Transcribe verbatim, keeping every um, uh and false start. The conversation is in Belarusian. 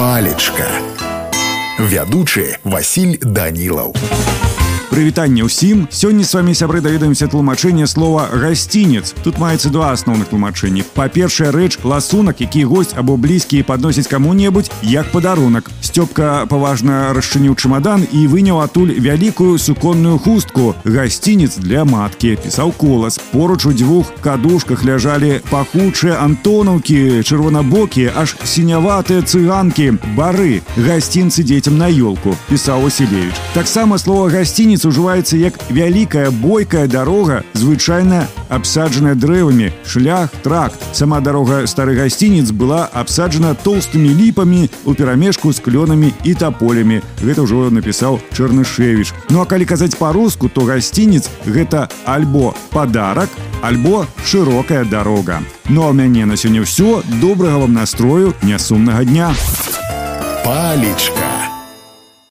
Палечка. Вядучы Васіль Данілаў. Прывітанне ўсім. Сёння з вами, сябры, даведаемся тлумачэнне слова «гасцінец». Тут маецца два асноўных тлумачэнні. Па-першае, рэч ласунак, які госць або блізкі падносіць каму-небудзь як падарунак. Сцёпка паважна расчыніў чемадан і выняў адтуль вялікую суконную хустку. «Гасцінец для маткі», пісаў колас. Поруч у дзвюх кадушках ляжалі пахучыя антонаўкі, чырвонабокія, аж сіняватыя цыганкі, бары. «Гасцінцы дзецям на ёлку», пісаў Васілевіч. Таксама слова «гасцінец» ужываецца як вялікая бойкая дарога, звычайна абсаджаная дрэвамі, шлях, тракт. Сама дарога стары гасцінец была абсаджана тоўстымі ліпамі у перамешку з клёнамі і таполямі. Гэта ўжо напісаў Чарнышевіч. Ну а калі казаць па-руску, то гасцінец гэта альбо падарак, альбо шырокая дарога. Ну а ў мяне на сёння ўсё. Добрага вам настрою, нясумнага дня. Палечка.